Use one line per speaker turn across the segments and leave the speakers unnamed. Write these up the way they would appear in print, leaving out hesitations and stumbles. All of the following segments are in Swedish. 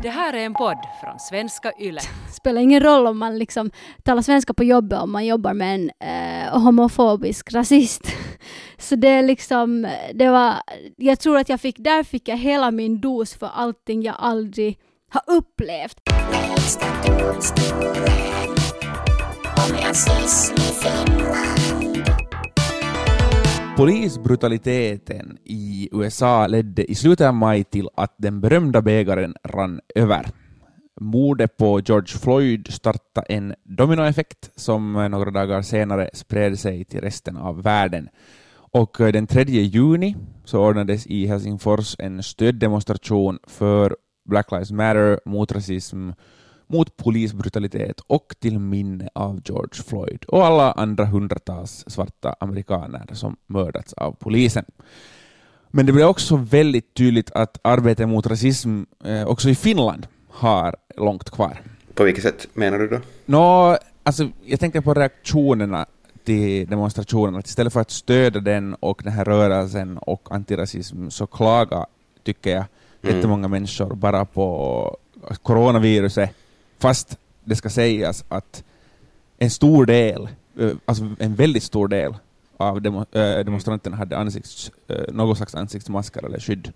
Det här är en podd från Svenska Yle.
Spelar ingen roll om man liksom talar svenska på jobbet om man jobbar med en homofobisk rasist. Så det är liksom, det var, jag tror att där fick jag hela min dos för allting jag aldrig har upplevt.
Polisbrutaliteten i USA ledde i slutet av maj till att den berömda bägaren rann över. Mordet på George Floyd startade en dominoeffekt som några dagar senare spred sig till resten av världen. Och den 3 juni så ordnades i Helsingfors en stöddemonstration för Black Lives Matter, mot rasism, mot polisbrutalitet och till minne av George Floyd och alla andra hundratals svarta amerikaner som mördats av polisen. Men det blev också väldigt tydligt att arbetet mot rasism också i Finland har långt kvar.
På vilket sätt menar du då?
Alltså, jag tänkte på reaktionerna till demonstrationen. Att istället för att stödja den och den här rörelsen och antirasism så klagar, tycker jag, jättemånga människor bara på coronaviruset. Fast det ska sägas att en stor del, alltså en väldigt stor del av demonstranterna hade någon slags ansiktsmasker eller skydd.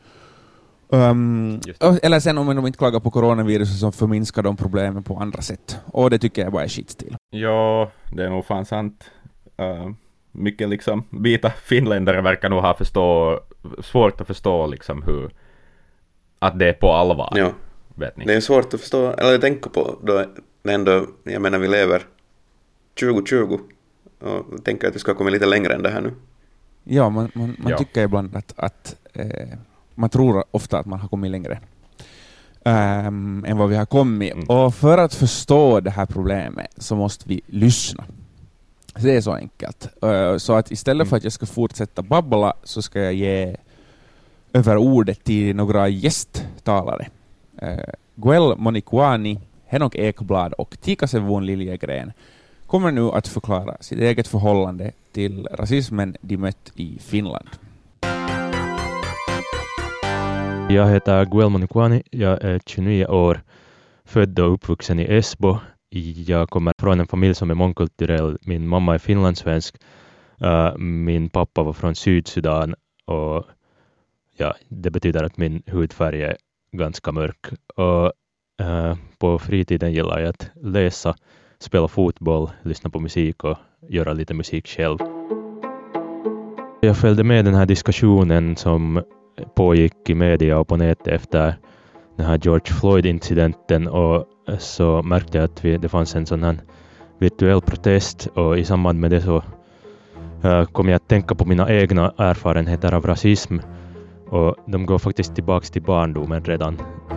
Eller sen om de inte klagar på coronaviruset så förminskar de problemen på andra sätt. Och det tycker jag bara är skitstil.
Ja, det är nog fan sant. Mycket liksom vita finländare verkar nog ha svårt att förstå liksom hur att det är på allvar.
Ja.
Vet ni?
Det är svårt att förstå, eller tänka på då ändå, jag menar vi lever 2020 och tänker att vi ska komma lite längre än det här nu.
Ja, man tycker ibland att man tror ofta att man har kommit längre än vad vi har kommit. Och för att förstå det här problemet så måste vi lyssna. Så det är så enkelt. Så att istället för att jag ska fortsätta babbla så ska jag ge över ordet till några gästtalare. Guel Monikwani, Henok Ekblad och Tika Sevon Liljegren kommer nu att förklara sitt eget förhållande till rasismen de mött i Finland.
Jag heter Guel Monikwani, jag är 29 år, född och uppvuxen i Esbo. Jag kommer från en familj som är mångkulturell. Min mamma är finlandssvensk, min pappa var från Sydsudan och ja, det betyder att min hudfärg är ganska mörk. Och på fritiden gillar jag att läsa, spela fotboll, lyssna på musik och göra lite musik själv. Jag följde med den här diskussionen som pågick i media och på nätet efter den här George Floyd-incidenten, och så märkte jag att det fanns en sån här virtuell protest, och i samband med det så kom jag att tänka på mina egna erfarenheter av rasism, och de går faktiskt tillbaka till barndomen redan.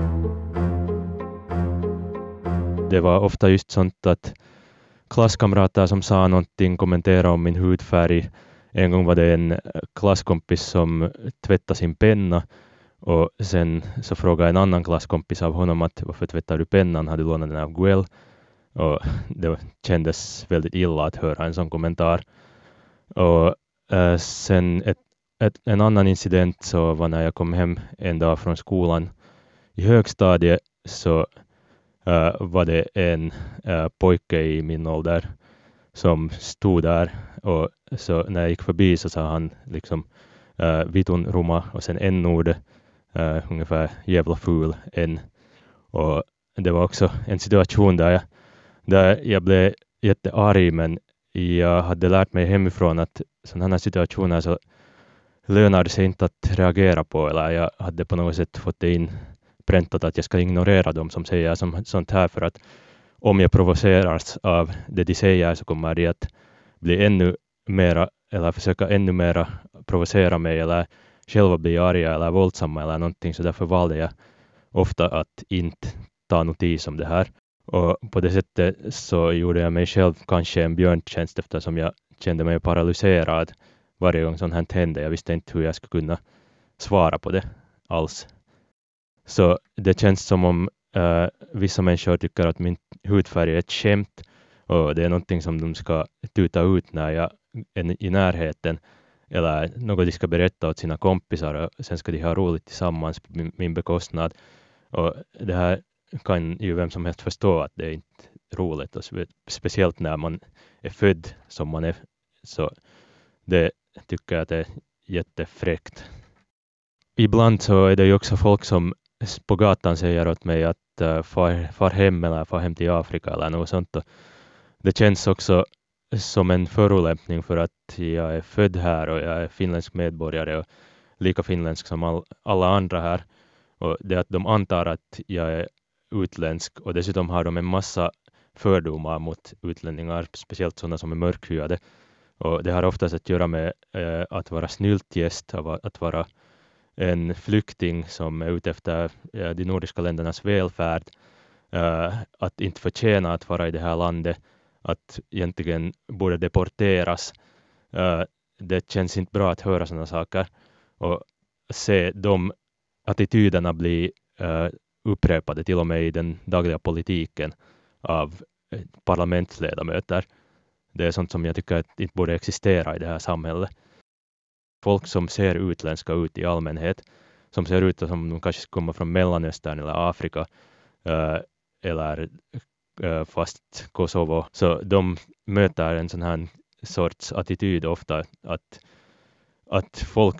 Det var ofta just sånt att klasskamrater som sa någonting, kommenterade om min hudfärg. En gång var det en klasskompis som tvättade sin penna, och sen så frågade en annan klasskompis av honom att varför tvättar du pennan, hade du lånat den av Guel? Och det kändes väldigt illa att höra en sån kommentar. Och sen en annan incident så var när jag kom hem en dag från skolan i högstadiet, så var det en pojke i min ålder som stod där, och så när jag gick förbi så sa han liksom vitun ruma och sen n-ord, ungefär jävla ful en. Och det var också en situation där jag blev jättearg, men jag hade lärt mig hemifrån att sådana här situationer så lönar det sig inte att reagera på, eller jag hade på något sätt fått det inpräntat att jag ska ignorera dem som säger sånt här, för att om jag provoceras av det de säger så kommer det att bli ännu mera, eller försöka ännu mera provocera mig, eller själva bli arga eller våldsamma eller någonting, så därför valde jag ofta att inte ta notis om det här. Och på det sättet så gjorde jag mig själv kanske en björntjänst, eftersom jag kände mig paralyserad varje gång sånt här hände. Jag visste inte hur jag skulle kunna svara på det alls. Så det känns som om vissa människor tycker att min hudfärg är ett skämt, och det är någonting som de ska tuta ut när jag är i närheten, eller något de ska berätta åt sina kompisar, och sen ska de ha roligt tillsammans på min bekostnad. Och det här kan ju vem som helst förstå att det är inte roligt. Och speciellt när man är född som man är. Så det tycker jag att det är jättefräckt. Ibland så är det ju också folk som på gatan säger åt mig att far hem eller far hem till Afrika eller något sånt. Och det känns också som en förolämpning för att jag är född här och jag är finländsk medborgare och lika finländsk som alla andra här. Och det att de antar att jag är utländsk och dessutom har de en massa fördomar mot utlänningar, speciellt sådana som är mörkhyade. Och det har oftast att göra med att vara snyltgäst, att vara en flykting som är ute efter de nordiska ländernas välfärd, att inte förtjäna att vara i det här landet, att egentligen borde deporteras. Det känns inte bra att höra sådana saker och se de attityderna bli upprepade till och med i den dagliga politiken av parlamentsledamöter. Det är sånt som jag tycker att inte borde existera i det här samhället. Folk som ser utländska ut i allmänhet, som ser ut som de kanske kommer från Mellanöstern eller Afrika eller fast Kosovo, så de möter en sån här sorts attityd ofta att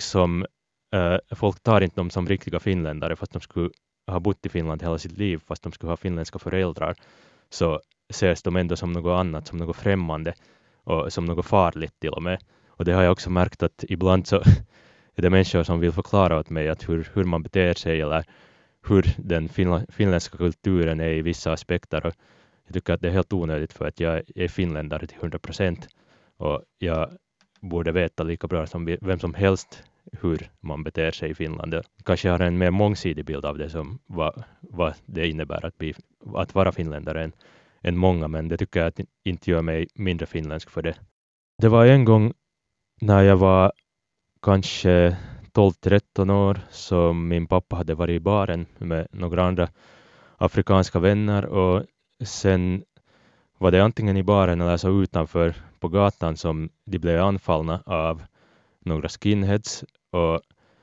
folk tar inte dem som riktiga finländare fast de skulle ha bott i Finland hela sitt liv, fast de skulle ha finländska föräldrar, så ses de ändå som något annat, som något främmande och som något farligt till och med. Och det har jag också märkt att ibland så är det människor som vill förklara åt mig att hur man beter sig eller hur den finländska kulturen är i vissa aspekter. Och jag tycker att det är helt onödigt för att jag är finländare till 100% och jag borde veta lika bra som vem som helst hur man beter sig i Finland. Kanske jag har en mer mångsidig bild av det som vad det innebär att vara finländare än många, men det tycker jag att inte gör mig mindre finländsk för det. Det var en gång när jag var kanske 12-13 år som min pappa hade varit i baren med några andra afrikanska vänner och sen var det antingen i baren eller så utanför på gatan som de blev anfallna av några skinheads och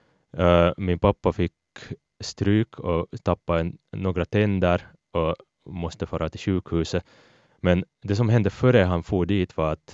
min pappa fick stryk och tappade några tänder och måste fara till sjukhuset. Men det som hände före han for dit var att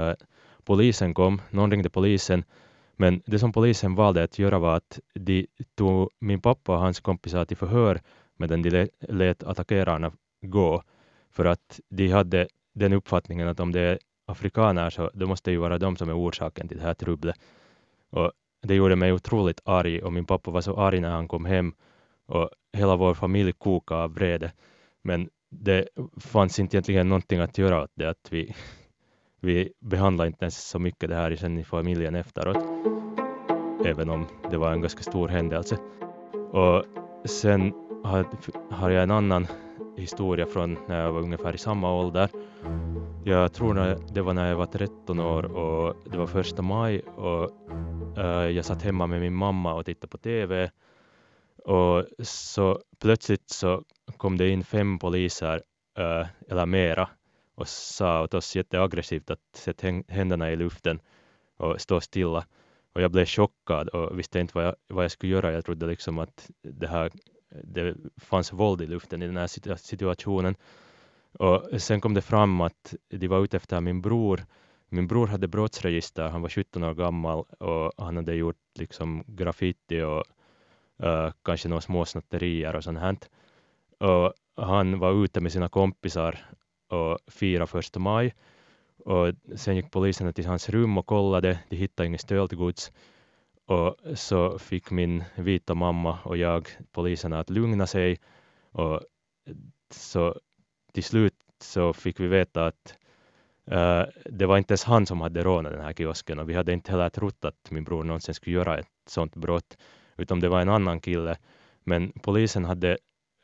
polisen kom, någon ringde polisen, men det som polisen valde att göra var att de tog min pappa och hans kompisar till förhör medan de lät attackerarna gå, för att de hade den uppfattningen att om det är afrikaner så det måste ju vara de som är orsaken till det här trubblet. Och det gjorde mig otroligt arg och min pappa var så arg när han kom hem och hela vår familj kokade av vrede. Men det fanns inte egentligen någonting att göra åt det, att vi behandlade inte ens så mycket det här sen i familjen efteråt, även om det var en ganska stor händelse. Och sen har jag en annan historia från när jag var ungefär i samma ålder. Jag tror det var när jag var 13 år och det var 1 maj och jag satt hemma med min mamma och tittade på TV och så plötsligt så kom det in 5 poliser eller mera och sa åt oss jätteaggressivt att sätta händerna i luften och stå stilla. Och jag blev chockad och visste inte vad jag skulle göra. Jag trodde liksom att det fanns våld i luften i den här situationen. Och sen kom det fram att de var ute efter min bror. Min bror hade brottsregister, han var 17 år gammal och han hade gjort liksom graffiti och kanske några små snatterier och sånt här. Och han var ute med sina kompisar och firade 1 maj. Och sen gick poliserna till hans rum och kollade, de hittade inget stöldgods. Och så fick min vita mamma och jag poliserna att lugna sig. Och så till slut så fick vi veta att det var inte ens han som hade rånat den här kiosken. Och vi hade inte heller trott att min bror någonsin skulle göra ett sånt brott. Utan det var en annan kille. Men polisen hade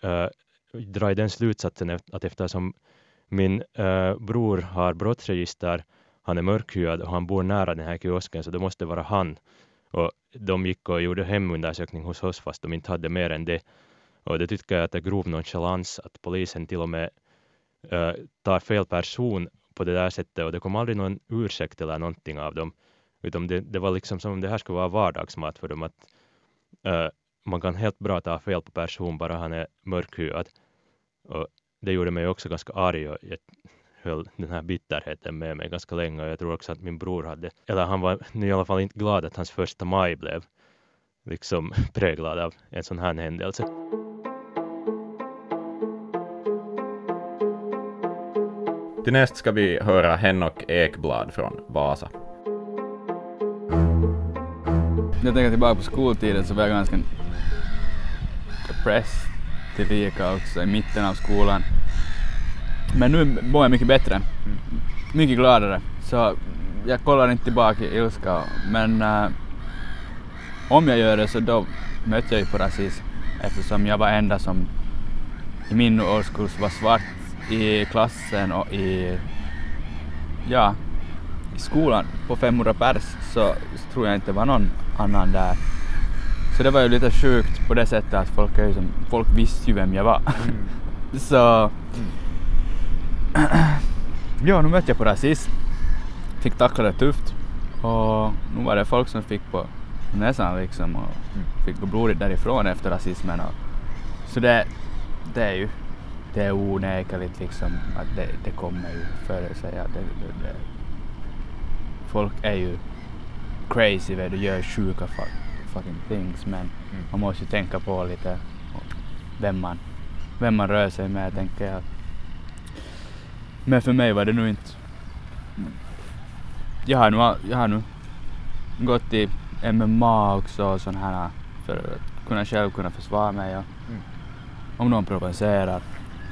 dragit den slutsatsen att eftersom min bror har brottsregister, han är mörkhyad och han bor nära den här kiosken, så det måste vara han. Och de gick och gjorde hemundersökning hos oss fast de inte hade mer än det. Och det tycker jag att det är grov nonchalans att polisen till och med tar fel person på det där sättet, och det kom aldrig någon ursäkt eller någonting av dem. Utan det var liksom som om det här skulle vara vardagsmat för dem, att man kan helt bra ta fel på person bara han är mörkhyad. Och det gjorde mig också ganska arg och jag höll den här bitterheten med mig ganska länge. Och jag tror också att min bror han var i alla fall inte glad att hans första maj blev liksom präglad av en sån här händelse.
Till näst ska vi höra Henok Ekblad från Vasa.
Jag tänker tillbaka på skoltiden så var jag ganska depressed tillika också i mitten av skolan. Men nu mår jag mycket bättre. Mycket gladare. Så jag kollar inte tillbaka i ilska. Men om jag gör det så då mötte jag ju på rasism. Eftersom jag var enda som i min årskurs var svart i klassen och i skolan på 500 pers så tror jag inte var någon annan där. Så det var ju lite sjukt på det sättet att folk visste ju vem jag var. Så nu mötte jag på rasism. Fick tackla det tufft. Och nu var det folk som fick på näsan liksom och fick gå blodigt därifrån efter rasismen. Så det är onekligt liksom att det kommer ju före sig att folk är ju crazy vad du gör sjuka fucking things, men man måste ju tänka på lite vem man rör sig med, tänker jag. Men för mig var det nu inte. Jag har nu gått i MMA också och sån här för att själv kunna försvara mig och om någon provocerar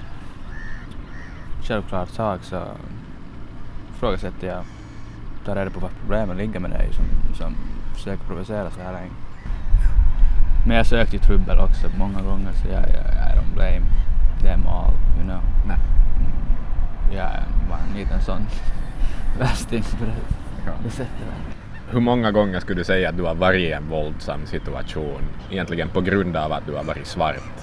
självklart sak så frågasätter jag, tar reda på vad problemen ligger med dig som försöker provocera så här länge. Men jag sökte ju trubbel också många gånger så jag don't blame them all, you know. Nej. Jag var en liten sån värsting på det sättet.
Hur många gånger skulle du säga att du har varit i en våldsam situation egentligen på grund av att du har varit svart?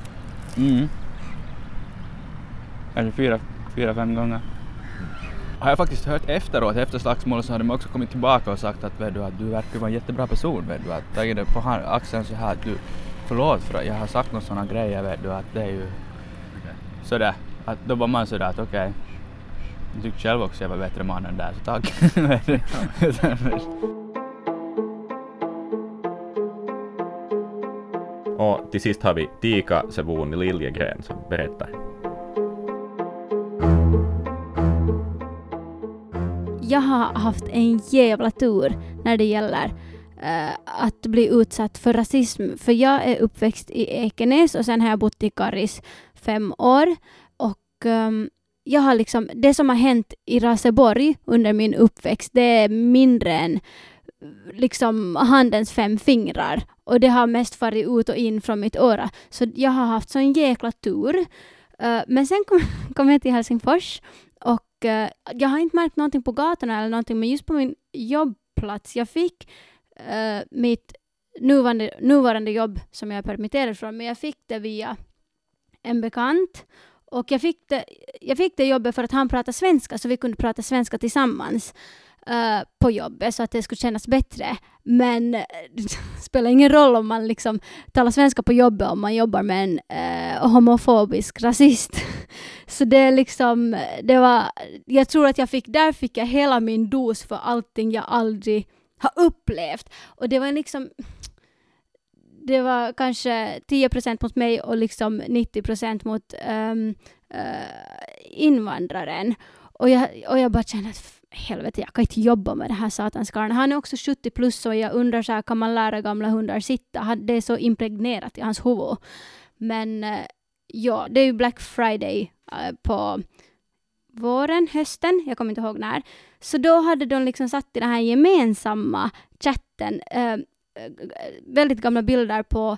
Kanske 4-5 gånger. Har jag faktiskt hört efteråt, efter slagsmålet så har de också kommit tillbaka och sagt att du verkar vara en jättebra person, att tagit det på axeln så här att du förlåt för att jag har sagt några sådana grejer, att det är ju sådär, att då var man sådär att okej. Jag tyckte själv också att jag var bättre man än där, så tack.
Och till sist har vi Tika Sevuni Liljegren som berättar.
Jag har haft en jävla tur när det gäller att bli utsatt för rasism. För jag är uppväxt i Ekenäs och sen har jag bott i Karis 5 år. Och jag har liksom, det som har hänt i Raseborg under min uppväxt, det är mindre än liksom handens 5 fingrar. Och det har mest farit ut och in från mitt öra. Så jag har haft sån jäkla tur. Men sen kom jag till Helsingfors. Och jag har inte märkt någonting på gatorna eller någonting, men just på min jobbplats. Jag fick mitt nuvarande jobb som jag är permitterad från, men jag fick det via en bekant. Och jag fick det jobbet för att han pratar svenska, så vi kunde prata svenska tillsammans på jobbet så att det skulle kännas bättre. Men det spelar ingen roll om man liksom talar svenska på jobbet om man jobbar med en homofobisk rasist. Så det är liksom, jag tror att där fick jag hela min dos för allting jag aldrig har upplevt. Och det var liksom, det var kanske 10% mot mig och liksom 90% mot invandraren. Och jag bara kände att helvete, jag kan inte jobba med det här satanskarlen. Han är också 70 plus och jag undrar så här, kan man lära gamla hundar sitta? Det är så impregnerat i hans huvud. Men ja, det är ju Black Friday på våren, hösten, jag kommer inte ihåg när. Så då hade de liksom satt i den här gemensamma chatten väldigt gamla bilder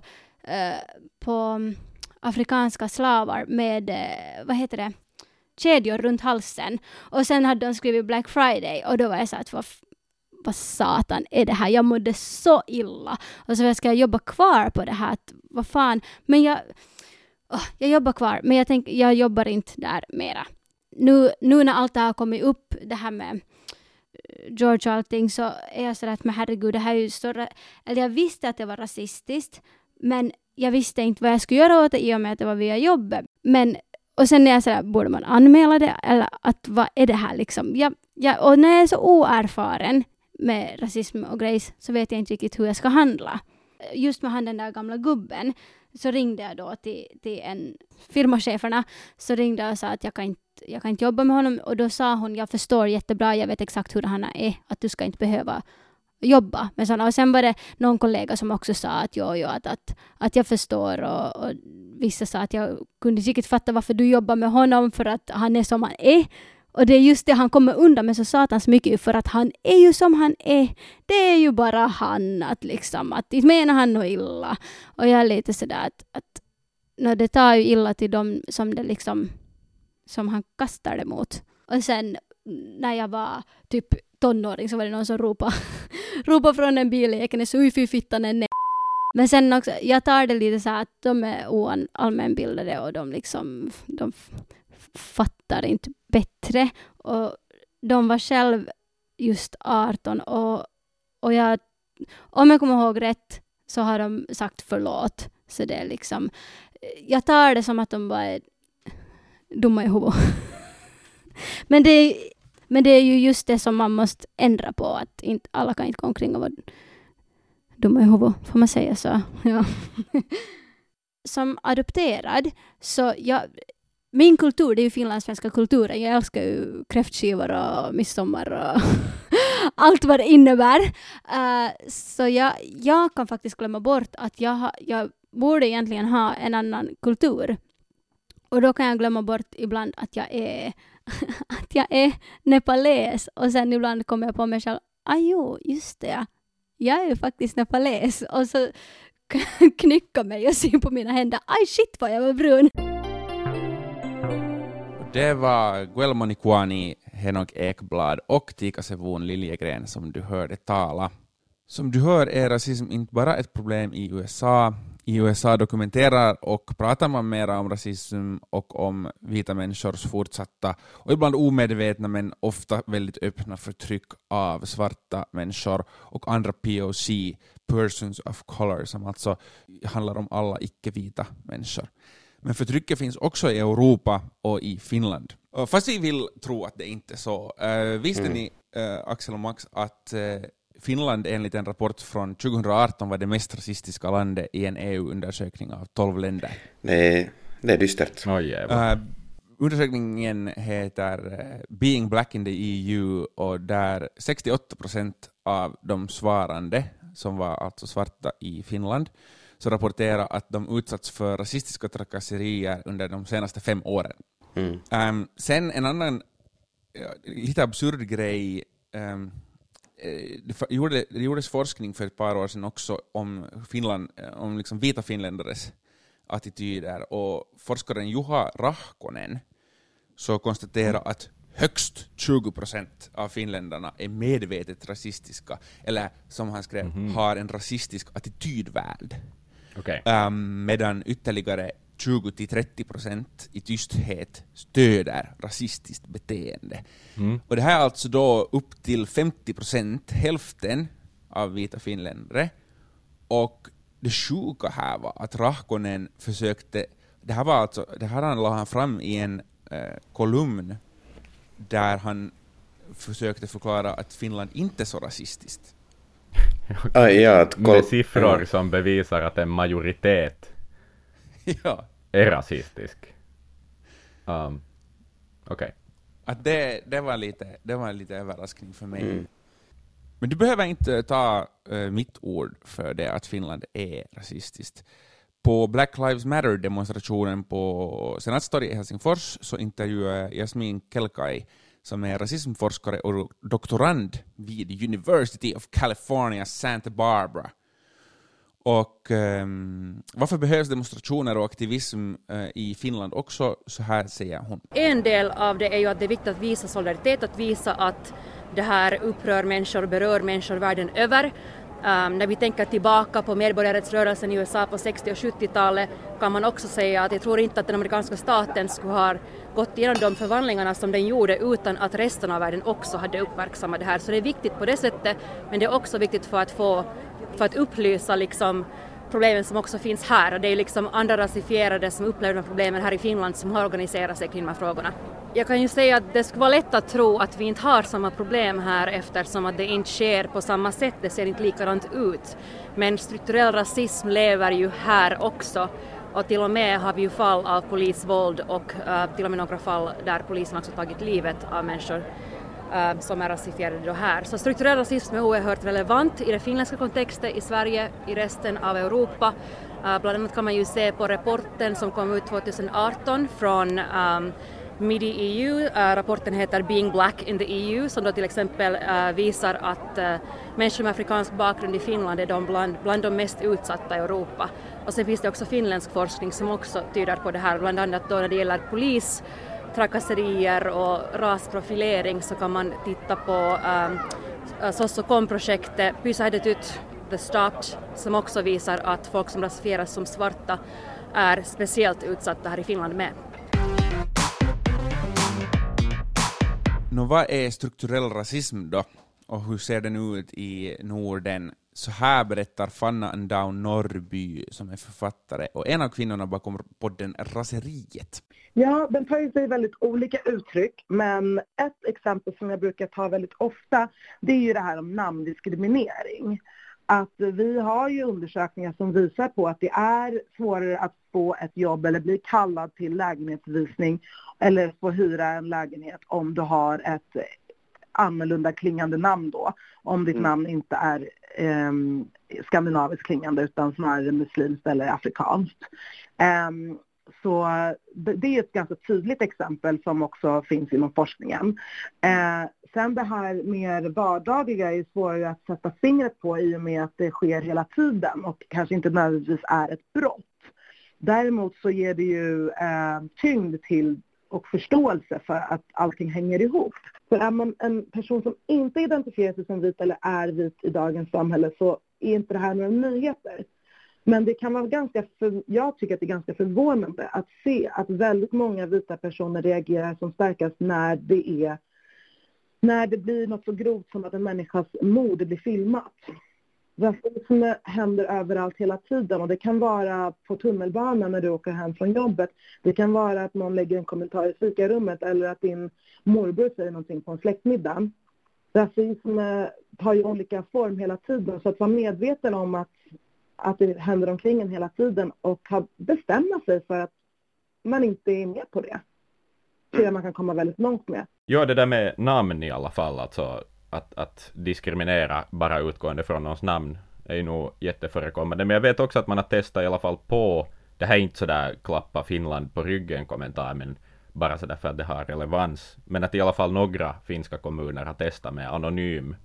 på afrikanska slavar med, kedjor runt halsen. Och sen hade de skrivit Black Friday och då var jag så att vad satan är det här? Jag mådde så illa. Och så ska jag jobba kvar på det här. Vad fan? Men jag jobbar kvar, men jag jobbar inte där mera. Nu när allt det här har kommit upp, det här med George och allting, så är jag så att men herregud, det här är ju större. Eller jag visste att det var rasistiskt, men jag visste inte vad jag skulle göra åt det i och med att det var via jobbet. Men Och sen är jag sådär, borde man anmäla det? Eller att vad är det här liksom? Och när jag är så oerfaren med rasism och grejs så vet jag inte riktigt hur jag ska handla. Just med den där gamla gubben så ringde jag då till en firmacheferna, så ringde jag och sa att jag kan inte jobba med honom, och då sa hon, jag förstår jättebra, jag vet exakt hur han är, att du ska inte behöva jobba med sådana. Och sen var det någon kollega som också sa att att jag förstår, och vissa sa att jag kunde säkert fatta varför du jobbar med honom, för att han är som han är. Och det är just det han kommer undan med så satans mycket, för att han är ju som han är. Det är ju bara han, att inte menar han något illa. Och jag är lite sådär att när det tar ju illa till dem som det liksom, som han kastar det mot. Och sen när jag var typ tonåring så var det någon som ropade från en bil i Ekenäs, oj fy fittan är nej. Men sen också, jag tar det lite så här att de är allmänbildade och de fattar inte bättre, och de var själv just 18, och jag, om jag kommer ihåg rätt så har de sagt förlåt, så det är liksom, jag tar det som att de bara är dumma i huvudet. men det är ju just det som man måste ändra på, att inte, alla kan inte gå omkring och vara dumma i huvudet, får man säga så. Ja. Som adopterad så min kultur, det är ju finlandssvenska kulturen. Jag älskar ju kräftskivor och midsommar och allt vad det innebär. Så jag kan faktiskt glömma bort att jag borde egentligen ha en annan kultur. Och då kan jag glömma bort ibland att jag är nepales. Och sen ibland kommer jag på mig själv, jo, just det. Jag är ju faktiskt nepales. Och så knycka mig och se på mina händer. Aj shit vad jag var brun.
Det var Guelmo Nikuani, Henok Ekblad och Tika Sevon Liljegren som du hörde tala. Som du hör är rasism inte bara ett problem i USA. I USA dokumenterar och pratar man mer om rasism och om vita människors fortsatta och ibland omedvetna men ofta väldigt öppna förtryck av svarta människor och andra POC, persons of color, som alltså handlar om alla icke-vita människor. Men förtrycket finns också i Europa och i Finland. Fast vi vill tro att det inte är så. Visste ni, Axel och Max, att Finland enligt en rapport från 2018 var det mest rasistiska landet i en EU-undersökning av 12 länder?
Det är dystert.
Undersökningen heter Being Black in the EU, och där 68% av de svarande, som var alltså svarta i Finland, så rapporterar att de utsatts för rasistiska trakasserier under de senaste 5 åren. Sen en annan lite absurd grej, det gjordes forskning för ett par år sedan också om Finland, om liksom vita finländares attityder, och forskaren Juha Rahkonen så konstaterar att högst 20% av finländarna är medvetet rasistiska, eller som han skrev, har en rasistisk attitydvärld.
Okay.
Medan ytterligare 20-30% i tysthet stöder rasistiskt beteende. Och det här är alltså då upp till 50%, hälften av vita finländare. Och det sjuka här var att Rahkonen försökte, det här la han fram i en kolumn där han försökte förklara att Finland inte är så rasistiskt.
Med siffror som bevisar att en majoritet är rasistisk. Okej. Att
det var lite överraskning för mig. Men du behöver inte ta mitt ord för det att Finland är rasistiskt. På Black Lives Matter-demonstrationen på Senatstorget i Helsingfors så intervjuade Jasmin Kelkai, som är rasismforskare och doktorand vid University of California, Santa Barbara. Och varför behövs demonstrationer och aktivism i Finland också? Så här säger hon.
En del av det är ju att det är viktigt att visa solidaritet, att visa att det här upprör människor och berör människor världen över. När vi tänker tillbaka på medborgarrättsrörelsen i USA på 60- och 70-talet kan man också säga att jag tror inte att den amerikanska staten skulle ha gått igenom de förvandlingarna som den gjorde utan att resten av världen också hade uppmärksammat det här. Så det är viktigt på det sättet, men det är också viktigt för att upplysa liksom problemen som också finns här. Och det är liksom andra rasifierade som upplever de problemen här i Finland som har organiserat sig kring de här frågorna. Jag kan ju säga att det skulle vara lätt att tro att vi inte har samma problem här eftersom att det inte sker på samma sätt, det ser inte likadant ut. Men strukturell rasism lever ju här också. Och till och med har vi ju fall av polisvåld och till och med några fall där polisen också tagit livet av människor som är rasifierade då här. Så strukturell rasism är oerhört relevant i den finländska kontexten, i Sverige, i resten av Europa. Bland annat kan man ju se på rapporten som kom ut 2018 från MIDI EU. Rapporten heter Being Black in the EU som då till exempel visar att människor med afrikansk bakgrund i Finland är bland de mest utsatta i Europa. Och sen finns det också finländsk forskning som också tyder på det här, bland annat då när det gäller polis, trakasserier och rasprofilering så kan man titta på Sossokom-projektet Pysähdetyt The Stopped som också visar att folk som rasifieras som svarta är speciellt utsatta här i Finland med.
Vad är strukturell rasism då? Och hur ser den ut i Norden? Så här berättar Fanna Andown Norrby som är författare och en av kvinnorna bakom podden Raseriet.
Ja, den tar ju sig väldigt olika uttryck, men ett exempel som jag brukar ta väldigt ofta, det är ju det här om namndiskriminering. Att vi har ju undersökningar som visar på att det är svårare att få ett jobb eller bli kallad till lägenhetsvisning eller få hyra en lägenhet om du har ett annorlunda klingande namn då. Om ditt namn inte är skandinaviskt klingande utan snarare muslimskt eller afrikanskt. Så det är ett ganska tydligt exempel som också finns inom forskningen. Sen det här mer vardagliga är svårare att sätta fingret på i och med att det sker hela tiden och kanske inte nödvändigtvis är ett brott. Däremot så ger det ju tyngd till och förståelse för att allting hänger ihop. För är man en person som inte identifierar sig som vit eller är vit i dagens samhälle så är inte det här några nyheter. Men det kan vara jag tycker att det är ganska förvånande att se att väldigt många vita personer reagerar som starkast när det blir något så grovt som att en människas mord blir filmat. Rasism händer överallt hela tiden och det kan vara på tunnelbanan när du åker hem från jobbet. Det kan vara att någon lägger en kommentar i fikarummet eller att din morbror säger någonting på en släktmiddag. Rasism tar ju olika form hela tiden så att vara medveten om att det händer omkring en hela tiden och bestämma sig för att man inte är med på det. Så jag man kan komma väldigt långt med.
Ja, det där med namn i alla fall, alltså att diskriminera bara utgående från någons namn är ju nog jätteförekommande. Men jag vet också att man har testat i alla fall på, det här är inte sådär klappa Finland på ryggen kommentar, men bara sådär för att det har relevans. Men att i alla fall några finska kommuner har testat med anonym,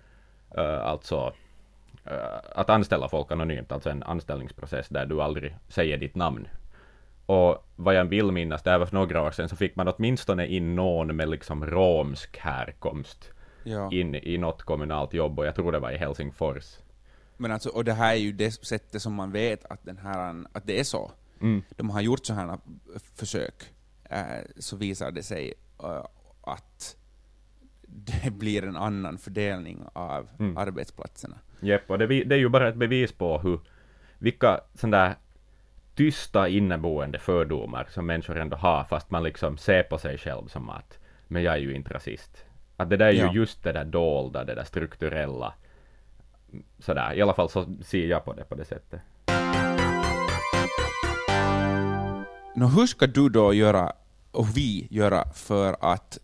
alltså att anställa folk anonymt, alltså en anställningsprocess där du aldrig säger ditt namn. Och vad jag vill minnas, det här var för några år sedan, så fick man åtminstone in någon med liksom romsk härkomst in i något kommunalt jobb, och jag tror det var i Helsingfors. Men
alltså, och det här är ju det sättet som man vet att att det är så. De har gjort så här försök, så visar det sig att det blir en annan fördelning av arbetsplatserna.
Japp, och det är ju bara ett bevis på vilka sådana där tysta inneboende fördomar som människor ändå har, fast man liksom ser på sig själv som att men jag är ju inte rasist. Att det där är ju just det där dolda, det där strukturella. Sådär, i alla fall så ser jag på det sättet.
Hur ska du då göra, och vi göra, för att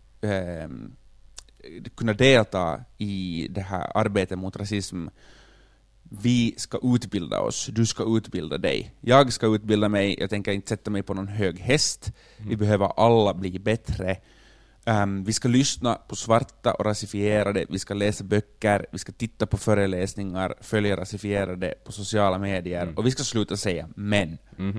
kunna delta i det här arbetet mot rasism? Vi ska utbilda oss, du ska utbilda dig. Jag ska utbilda mig, jag tänker inte sätta mig på någon hög häst. Vi behöver alla bli bättre. Vi ska lyssna på svarta och rasifierade, vi ska läsa böcker, vi ska titta på föreläsningar, följa rasifierade på sociala medier, och vi ska sluta säga men.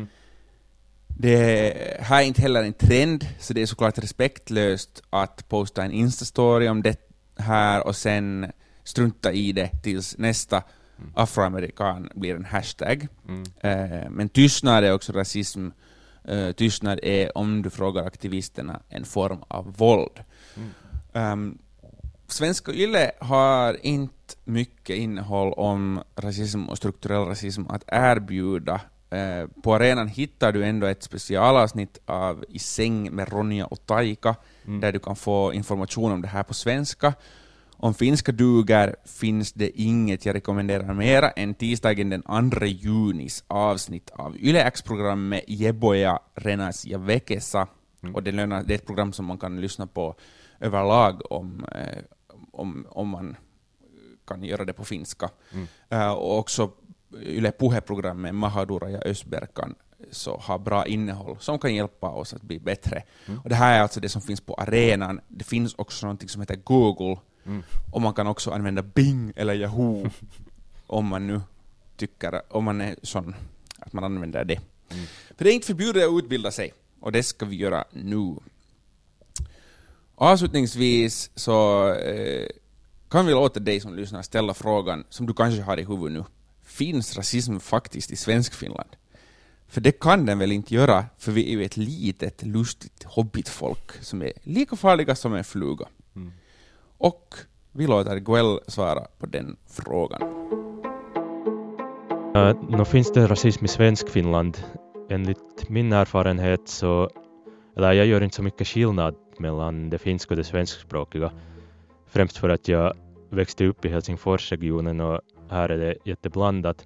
Det här är inte heller en trend, så det är såklart respektlöst att posta en Insta-story om det här och sen strunta i det tills nästa afroamerikan blir en hashtag. Men tystnad är också rasism. Tystnad är, om du frågar aktivisterna, en form av våld. Svenska Yle har inte mycket innehåll om rasism och strukturell rasism att erbjuda. På arenan hittar du ändå ett specialavsnitt av I säng med Ronja och Taika, där du kan få information om det här på svenska. Om finska duger finns det inget jag rekommenderar mera än tisdagen den 2 junis avsnitt av Yle X-programmet Jeboja Renas ja Vekesa. Och det är ett program som man kan lyssna på överlag om man kan göra det på finska. Och också Yle Puhe-programmet Mahadura ja Ösberkan så har bra innehåll som kan hjälpa oss att bli bättre. Och det här är alltså det som finns på arenan. Det finns också något som heter Google. Och man kan också använda Bing eller Yahoo om man nu tycker, om man är sån att man använder det. För det är inte förbjudet att utbilda sig, och det ska vi göra nu. Avslutningsvis så kan vi låta dig som lyssnar ställa frågan som du kanske har i huvudet nu. Finns rasism faktiskt i Svenskfinland? För det kan den väl inte göra, för vi är ju ett litet, lustigt hobbitfolk som är lika farliga som en fluga. Och vi låter Guel svara på den frågan.
Nu finns det rasism i Svenskfinland. Enligt min erfarenhet så, eller jag gör inte så mycket skillnad mellan det finska och det svenskspråkiga. Främst för att jag växte upp i Helsingforsregionen och här är det jätteblandat.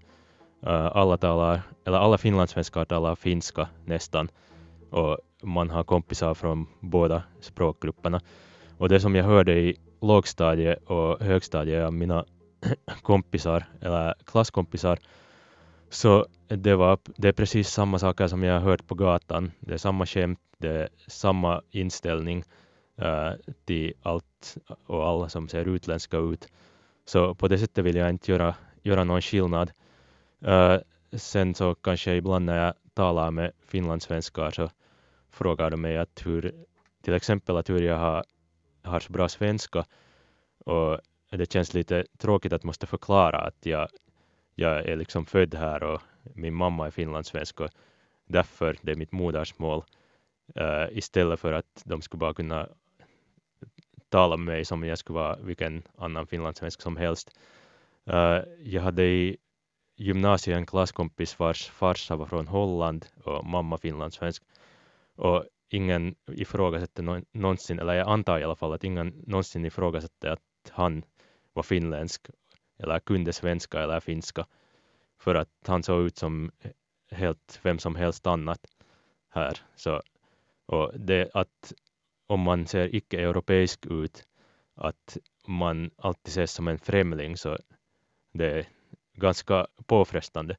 Alla finlandssvenskar talar finska nästan. Och man har kompisar från båda språkgrupperna. Och det som jag hörde i lågstadie och högstadie av mina kompisar eller klasskompisar, så det är precis samma saker som jag har hört på gatan. Det är samma skämt, det är samma inställning till allt och alla som ser utländska ut. Så på det sättet vill jag inte göra någon skillnad. Sen så kanske ibland när jag talar med finlandssvenskar så frågar de mig att till exempel att hur jag har så bra svenska, och det känns lite tråkigt att måste förklara att jag är liksom född här och min mamma är finlandssvensk och därför det är mitt modersmål, istället för att de skulle bara kunna tala med mig som jag skulle vara vilken annan finlandssvensk som helst. Jag hade i gymnasiet en klasskompis vars farsa var från Holland och mamma finlandssvensk, och ingen ifrågasätter någonsin, eller jag antar i alla fall att ingen någonsin ifrågasätter att han var finländsk eller kunde svenska eller finska, för att han såg ut som helt vem som helst annat här. Så, och det att om man ser icke-europeisk ut, att man alltid ses som en främling, så det är ganska påfrestande.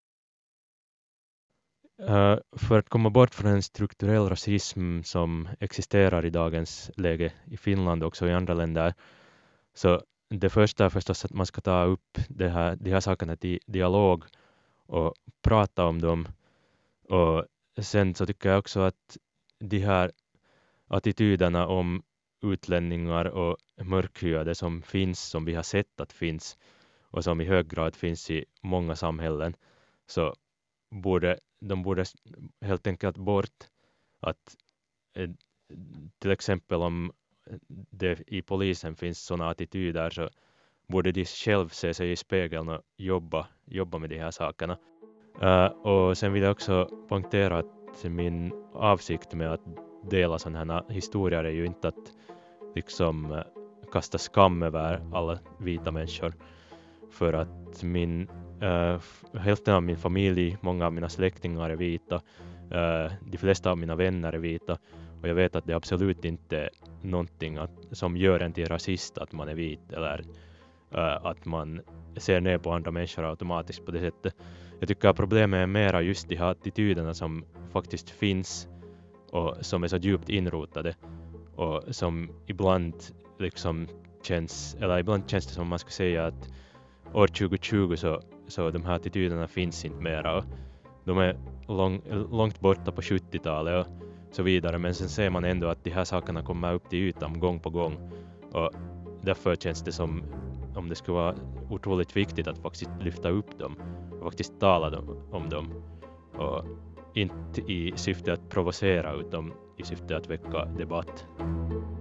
För att komma bort från en strukturell rasism som existerar i dagens läge i Finland och också i andra länder, så det första är förstås att man ska ta upp de här sakerna till dialog och prata om dem. Och sen så tycker jag också att de här attityderna om utlänningar och mörkhyade som finns, som vi har sett att finns och som i hög grad finns i många samhällen, så de borde helt enkelt bort. Att till exempel om det i polisen finns sådana attityder, så borde de själv se sig i spegeln och jobba med de här sakerna. Och sen vill jag också poängtera att min avsikt med att dela sådana här historier är ju inte att liksom kasta skam över alla vita människor, för att hälften av min familj, många av mina släktingar är vita, de flesta av mina vänner är vita, och jag vet att det absolut inte är någonting som gör en till rasist att man är vit, eller att man ser ner på andra människor automatiskt på det sättet. Jag tycker att problemet är mera just de här attityderna som faktiskt finns och som är så djupt inrotade, och som ibland liksom känns det som man ska säga att år 2020 så de här attityderna finns inte mera, och de är långt borta på 70-talet och så vidare, men sen ser man ändå att de här sakerna kommer upp till ytan gång på gång, och därför känns det som om det skulle vara otroligt viktigt att faktiskt lyfta upp dem och faktiskt tala om dem, och inte i syfte att provocera utan i syfte att väcka debatt.